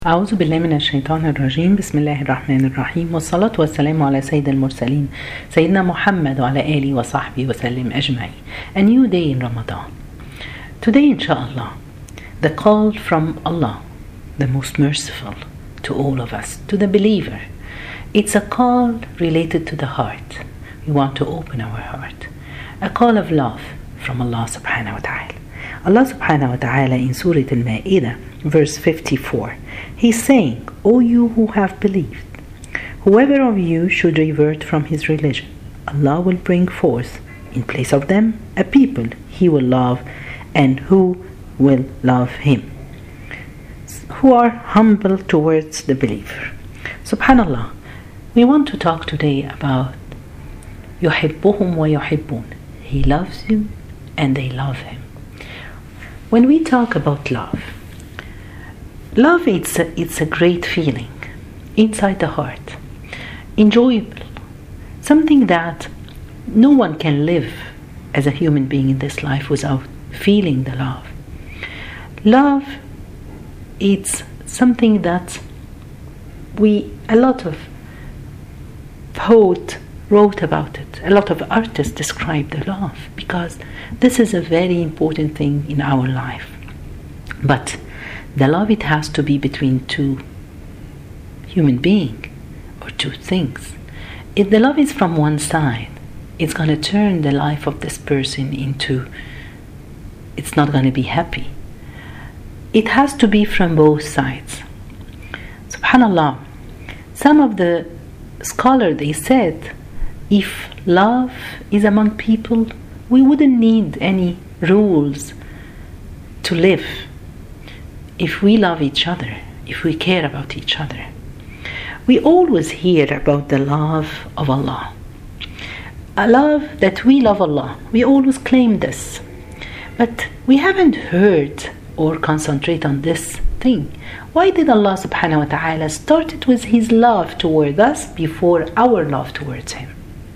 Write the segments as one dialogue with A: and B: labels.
A: أعوذ بالله من الشيطان الرجيم. بسم الله الرحمن الرحيم، والصلاة والسلام على سيد المرسلين سيدنا محمد وعلى آله وصحبه وسلم أجمعين. A new day in Ramadan. Today, inshallah, the call from Allah, the most merciful to all of us, to the believer. It's a call related to the heart. We want to open our heart. A call of love from Allah subhanahu wa ta'ala. Allah subhanahu wa ta'ala in Surah Al-Ma'idah, verse 54, He's saying, O you who have believed, whoever of you should revert from his religion, Allah will bring forth in place of them a people He will love and who will love Him, who are humble towards the believer. Subhanallah, we want to talk today about يحبهم ويحبون. He loves you and they love Him. When we talk about love, it's a great feeling inside the heart, enjoyable, something that no one can live as a human being in this life without feeling the love. Love, it's something that a lot of poets wrote about it, a lot of artists describe the love, because this is a very important thing in our life. But the love, it has to be between two human beings or two things. If the love is from one side, it's going to turn the life of this person into, it's not going to be happy. It has to be from both sides. Subhanallah, some of the scholars, they said, if love is among people, we wouldn't need any rules to live. If we love each other, if we care about each other. We always hear about the love of Allah. A love that we love Allah. We always claim this. But we haven't heard or concentrate on this thing. Why did Allah subhanahu wa ta'ala start it with His love toward us before our love towards Him?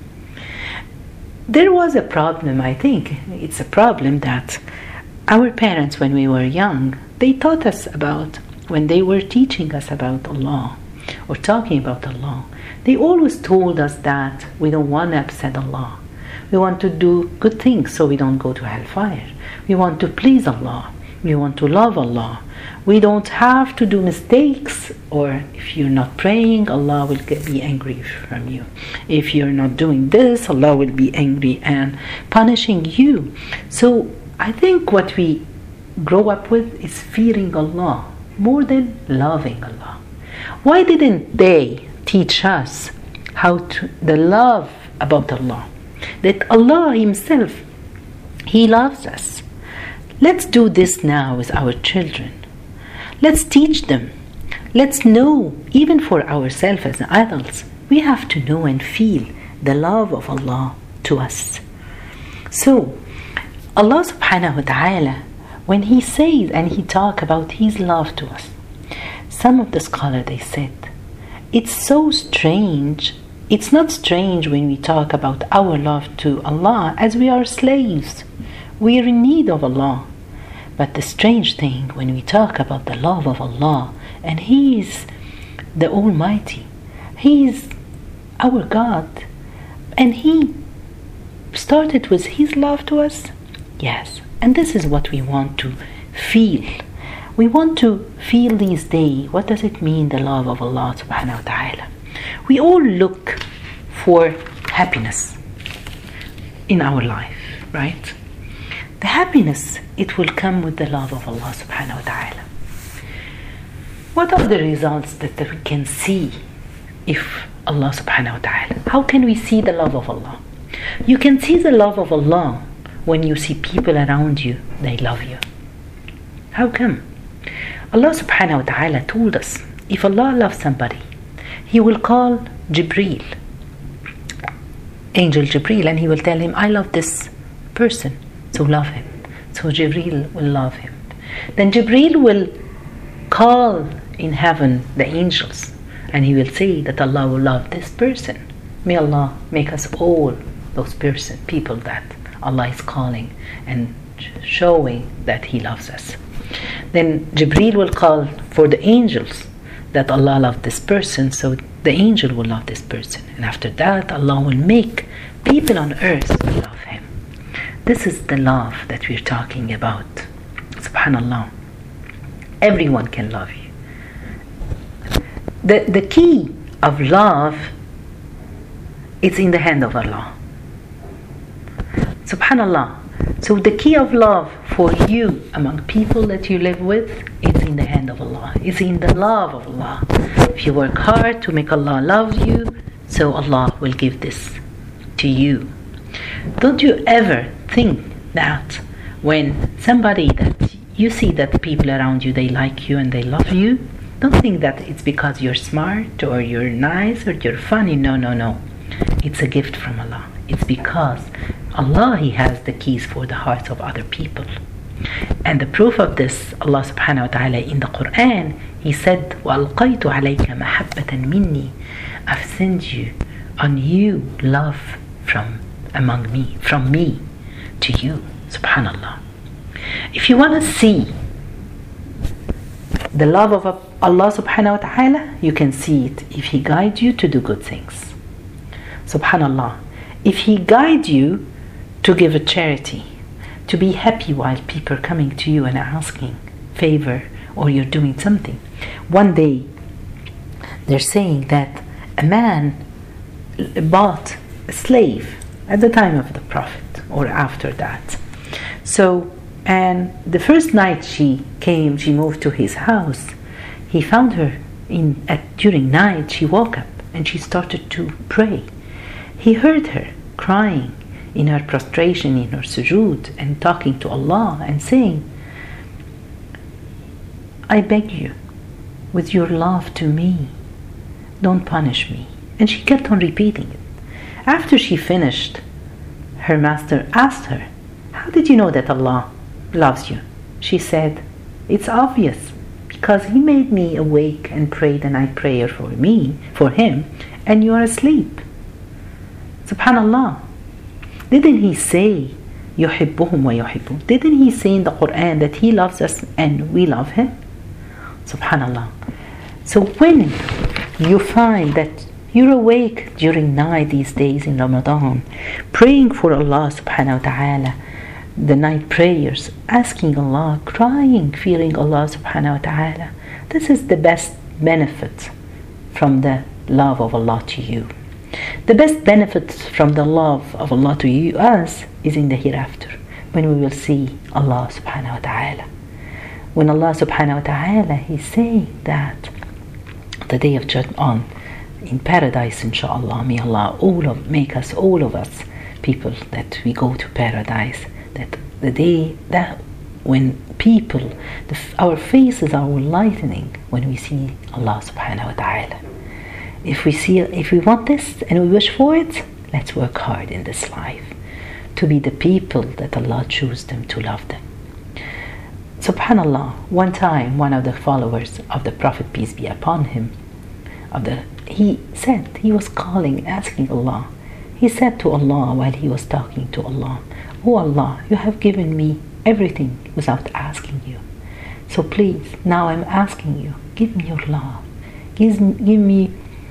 A: There was a problem, I think. It's a problem that our parents, when we were young, they taught us about, when they were teaching us about Allah or talking about Allah, they always told us that we don't want to upset Allah. We want to do good things so we don't go to hellfire. We want to please Allah. We want to love Allah. We don't have to do mistakes, or if you're not praying, Allah will be angry from you. If you're not doing this, Allah will be angry and punishing you. So I think what we grow up with is fearing Allah more than loving Allah. Why didn't they teach us the love about Allah? That Allah Himself, He loves us. Let's do this now with our children. Let's teach them. Let's know, even for ourselves as adults, we have to know and feel the love of Allah to us. So, Allah subhanahu wa ta'ala, when He says and He talks about His love to us, some of the scholars, they said, it's so strange. It's not strange when we talk about our love to Allah, as we are slaves. We are in need of Allah. But the strange thing when we talk about the love of Allah, and He is the Almighty, He is our God, and He started with His love to us. Yes, and this is what we want to feel. We want to feel these days, what does it mean, the love of Allah subhanahu wa ta'ala? We all look for happiness in our life, right? The happiness, it will come with the love of Allah subhanahu wa ta'ala. What are the results that we can see if Allah subhanahu wa ta'ala? How can we see the love of Allah? You can see the love of Allah when you see people around you, they love you. How come? Allah subhanahu wa ta'ala told us, if Allah loves somebody, He will call Jibreel, Angel Jibreel, and He will tell him, I love this person, so love him. So Jibreel will love him. Then Jibreel will call in heaven the angels, and he will say that Allah will love this person. May Allah make us all those people that Allah is calling and showing that He loves us. Then Jibreel will call for the angels, that Allah loved this person, so the angel will love this person. And after that, Allah will make people on earth love him. This is the love that we're talking about. Subhanallah. Everyone can love you. The key of love is in the hand of Allah. Subhanallah. So the key of love for you among people that you live with is in the hand of Allah. It's in the love of Allah. If you work hard to make Allah love you, so Allah will give this to you. Don't you ever think that when somebody that you see that the people around you, they like you and they love you, don't think that it's because you're smart or you're nice or you're funny. No. It's a gift from Allah. It's because Allah, He has the keys for the hearts of other people. And the proof of this, Allah subhanahu wa ta'ala in the Quran, He said, وَأَلْقَيْتُ عَلَيْكَ مَحَبَّةً مِنِّي, I've sent you on you love from among me, from me to you. Subhanallah. If you want to see the love of Allah subhanahu wa ta'ala, you can see it if He guides you to do good things. Subhanallah. If He guides you to give a charity, to be happy while people are coming to you and asking favor, or you're doing something. One day, they're saying that a man bought a slave at the time of the Prophet or after that. So, and the first night she moved to his house. He found her during night. She woke up and she started to pray. He heard her crying in her prostration, in her sujood, and talking to Allah and saying, I beg you, with your love to me, don't punish me. And she kept on repeating it. After she finished, her master asked her, how did you know that Allah loves you? She said, it's obvious, because He made me awake and pray the night prayer for Him, and you are asleep. Subhanallah. Didn't He say, يُحِبُّهُمْ وَيُحِبُّهُمْ? Didn't He say in the Quran that He loves us and we love Him? Subhanallah. So when you find that you're awake during night these days in Ramadan, praying for Allah subhanahu wa ta'ala, the night prayers, asking Allah, crying, fearing Allah subhanahu wa ta'ala, this is the best benefit from the love of Allah to you. The best benefit from the love of Allah to you, us, is in the hereafter, when we will see Allah subhanahu wa ta'ala. When Allah subhanahu wa ta'ala, He's saying that the day of judgment in paradise, inshallah, may Allah make us, all of us, people that we go to paradise, that the day that when people, our faces are lightening when we see Allah subhanahu wa ta'ala. If we want this and we wish for it, let's work hard in this life to be the people that Allah chose them to love them. Subhanallah, one time one of the followers of the Prophet, peace be upon him, he said, he was calling, asking Allah. He said to Allah while he was talking to Allah, Oh Allah, you have given me everything without asking you. So please, now I'm asking you, give me your love. Give me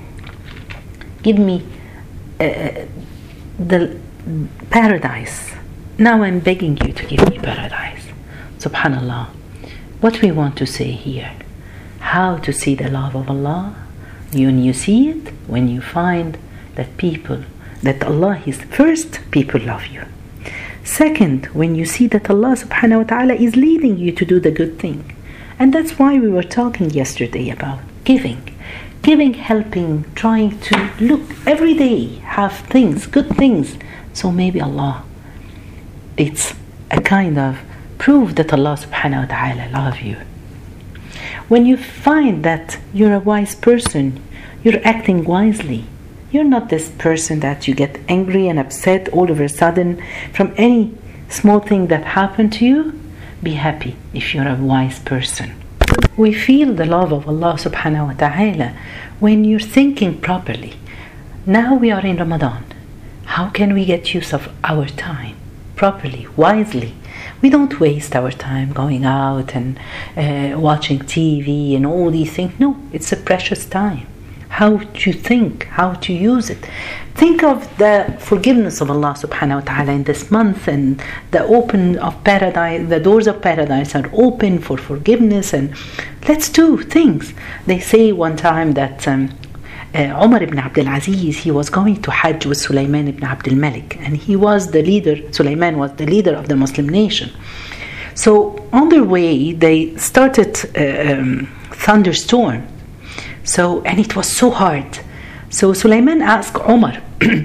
A: the paradise. Now I'm begging you to give me paradise. Subhanallah. What we want to say here, how to see the love of Allah. When you see it, when you find that Allah is first, people love you. Second, when you see that Allah subhanahu wa ta'ala is leading you to do the good thing. And that's why we were talking yesterday about giving, helping, trying to look every day, have things, good things. So maybe Allah, it's a kind of proof that Allah subhanahu wa ta'ala loves you. When you find that you're a wise person, you're acting wisely. You're not this person that you get angry and upset all of a sudden from any small thing that happened to you. Be happy if you're a wise person. We feel the love of Allah subhanahu wa ta'ala when you're thinking properly. Now we are in Ramadan. How can we get use of our time properly, wisely? We don't waste our time going out and watching TV and all these things. No, it's a precious time. How to think, how to use it. Think of the forgiveness of Allah subhanahu wa ta'ala in this month, and the doors of paradise are open for forgiveness, and let's do things. They say one time that Umar ibn Abdul Aziz, he was going to Hajj with Sulaiman ibn Abdul Malik, and Sulaiman was the leader of the Muslim nation. So on their way, they started thunderstorm. And it was so hard. So Sulaiman asked Umar,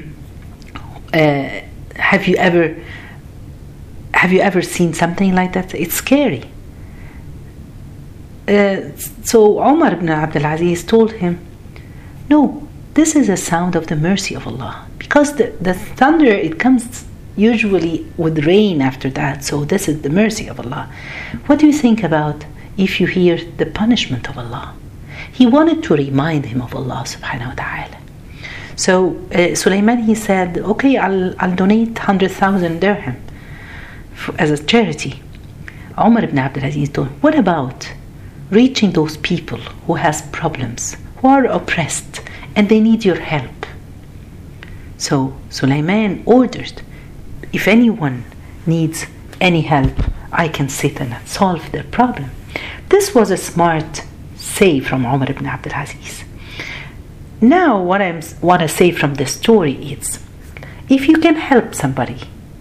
A: have you ever seen something like that? It's scary. So Umar ibn Abdul Aziz told him, no, this is a sound of the mercy of Allah. Because the thunder, it comes usually with rain after that. So this is the mercy of Allah. What do you think about if you hear the punishment of Allah? He wanted to remind him of Allah subhanahu wa ta'ala. So Sulaiman, he said, okay, I'll donate 100,000 dirham as a charity. Umar ibn Abdul Aziz told him, what about reaching those people who has problems, who are oppressed, and they need your help? So Sulaiman ordered, if anyone needs any help, I can sit and solve their problem. This was a smart say from Umar ibn Abdul Aziz. Now what I want to say from this story is, if you can help somebody,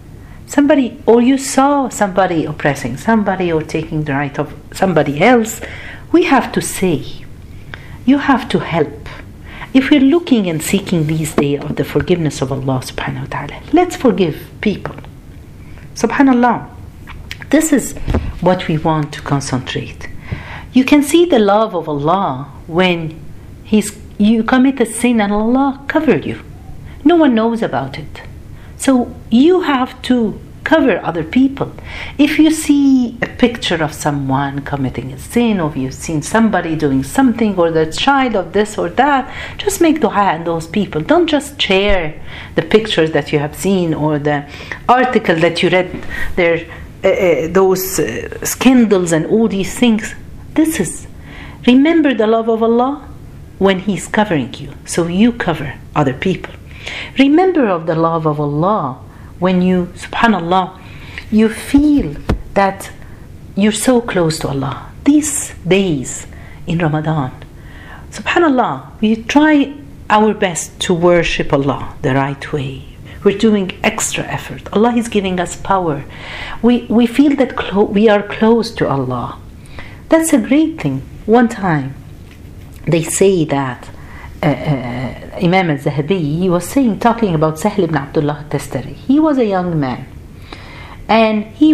A: or you saw somebody oppressing somebody or taking the right of somebody else, we have to say, you have to help. If we're looking and seeking these days of the forgiveness of Allah subhanahu wa ta'ala, let's forgive people. Subhanallah, this is what we want to concentrate. You can see the love of Allah when you commit a sin and Allah covered you. No one knows about it. So you have to cover other people. If you see a picture of someone committing a sin, or you've seen somebody doing something, or the child of this or that, just make dua on those people. Don't just share the pictures that you have seen or the article that you read there, those scandals and all these things. Remember the love of Allah when He's covering you, so you cover other people. Remember of the love of Allah when you, subhanallah, you feel that you're so close to Allah. These days in Ramadan, subhanallah, we try our best to worship Allah the right way. We're doing extra effort. Allah is giving us power. We feel that we are close to Allah. That's a great thing. One time, they say that Imam al-Zahabi, he was talking about Sahl ibn Abdullah al-Tastari. He was a young man, and he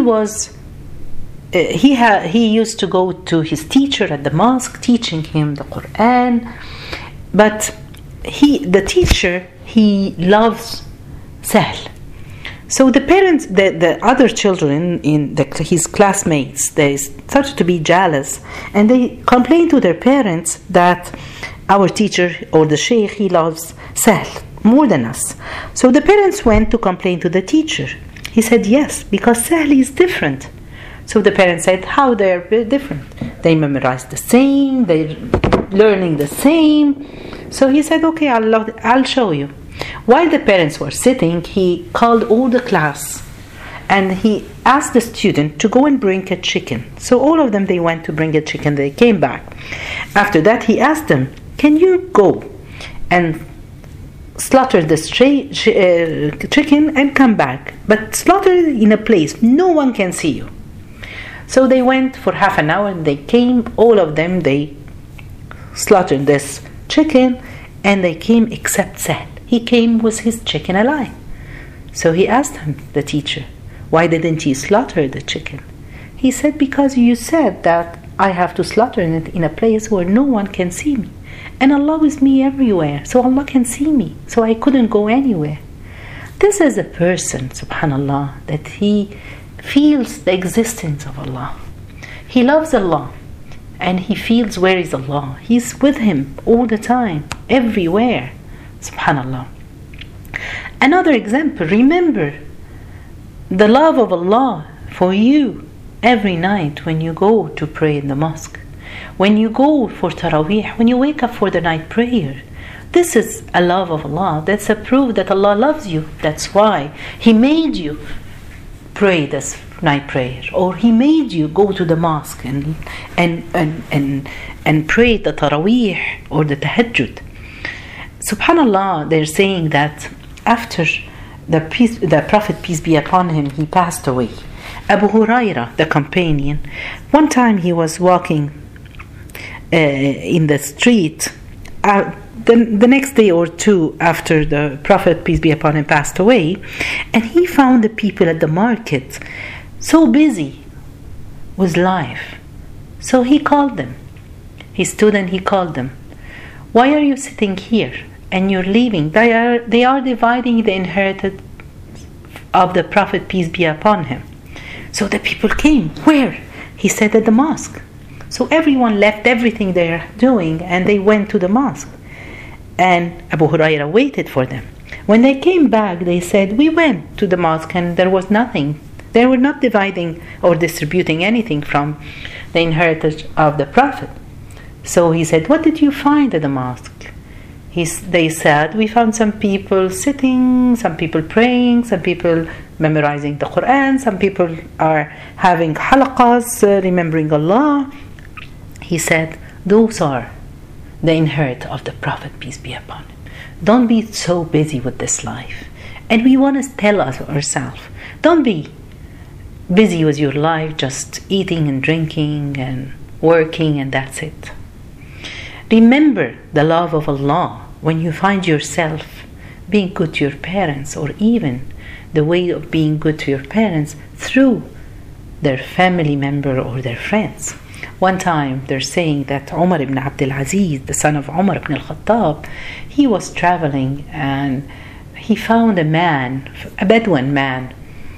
A: used to go to his teacher at the mosque, teaching him the Quran. But the teacher, he loves Sahl. So the parents, the other children in his classmates, they started to be jealous, and they complained to their parents that our teacher or the sheikh, he loves Sahl more than us. So the parents went to complain to the teacher. He said, yes, because Sahl is different. So the parents said, how they're different? They memorized the same, they're learning the same. So he said, okay, I'll show you. While the parents were sitting, he called all the class and he asked the student to go and bring a chicken. So all of them, they went to bring a chicken. They came back. After that, he asked them, can you go and slaughter this chicken and come back? But slaughter it in a place no one can see you. So they went for half an hour and they came, all of them, they slaughtered this chicken, and they came except Sahl. He came with his chicken alive. So he asked him, the teacher, why didn't you slaughter the chicken? He said, because you said that I have to slaughter it in a place where no one can see me. And Allah is me everywhere, so Allah can see me. So I couldn't go anywhere. This is a person, subhanallah, that he feels the existence of Allah. He loves Allah, and he feels where is Allah. He's with him all the time, everywhere. Subhanallah. Another example, remember the love of Allah for you every night when you go to pray in the mosque, when you go for Taraweeh, when you wake up for the night prayer. This is a love of Allah. That's a proof that Allah loves you. That's why He made you pray this night prayer, or He made you go to the mosque and pray the Taraweeh or the Tahajjud. Subhanallah, they're saying that after the Prophet, peace be upon him, he passed away, Abu Huraira, the companion, one time he was walking in the street the next day or two after the Prophet, peace be upon him, passed away, and he found the people at the market so busy with life. So he called them. He stood and he called them. Why are you sitting here and you're leaving? They are dividing the inheritance of the Prophet, peace be upon him. So the people came. Where? He said, at the mosque. So everyone left everything they're doing and they went to the mosque. And Abu Huraira waited for them. When they came back, they said, we went to the mosque and there was nothing. They were not dividing or distributing anything from the inheritance of the Prophet. So he said, what did you find at the mosque? They said, we found some people sitting, some people praying, some people memorizing the Quran, some people are having halaqas, remembering Allah. He said, those are the inheritance of the Prophet, peace be upon him. Don't be so busy with this life. And we want to tell ourselves, don't be busy with your life, just eating and drinking and working, and that's it. Remember the love of Allah when you find yourself being good to your parents, or even the way of being good to your parents through their family member or their friends. One time they're saying that Umar ibn Abdul Aziz, the son of Umar ibn al-Khattab, he was traveling and he found a man, a Bedouin man,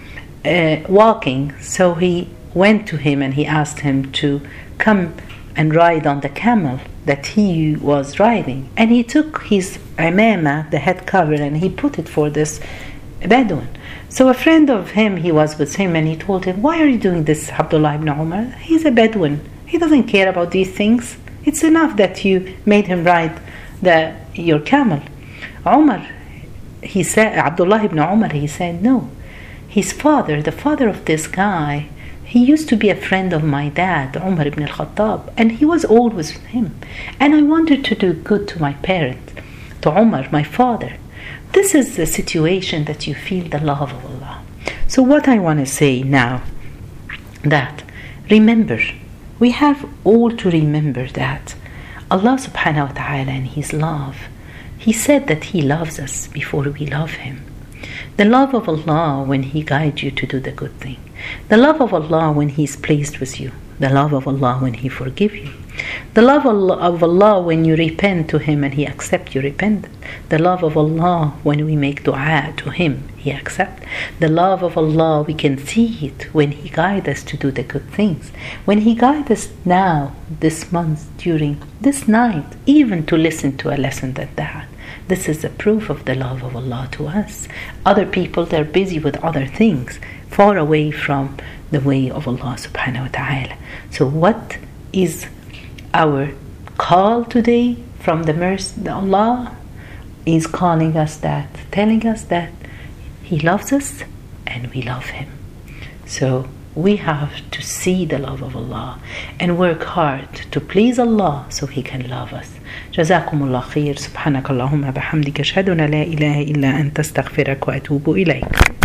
A: walking. So he went to him and he asked him to come and ride on the camel that he was riding. And he took his imama, the head cover, and he put it for this Bedouin. So a friend of him, he was with him, and he told him, why are you doing this, Abdullah ibn Umar? He's a Bedouin. He doesn't care about these things. It's enough that you made him ride your camel. Umar, he said, Abdullah ibn Umar, he said, no. His father, the father of this guy, he used to be a friend of my dad, Umar ibn al-Khattab, and he was always with him. And I wanted to do good to my parent, to Umar, my father. This is the situation that you feel the love of Allah. So what I want to say now, that remember, we have all to remember that Allah subhanahu wa ta'ala in His love, He said that He loves us before we love Him. The love of Allah when He guides you to do the good thing. The love of Allah when He is pleased with you. The love of Allah when He forgives you. The love of Allah when you repent to Him and He accepts your repentance. The love of Allah when we make dua to Him, He accepts. The love of Allah, we can see it when He guides us to do the good things. When He guides us now, this month, during this night, even to listen to a lesson like that. This is a proof of the love of Allah to us. Other people, they're busy with other things, far away from the way of Allah subhanahu wa ta'ala. So what is our call today from the mercy? Allah is calling us that, telling us that He loves us and we love Him. So we have to see the love of Allah and work hard to please Allah so He can love us. جزاكم الله خير. سبحانك اللهم بحمدك أشهد أن لا إله إلا أنت أستغفرك وأتوب إليك.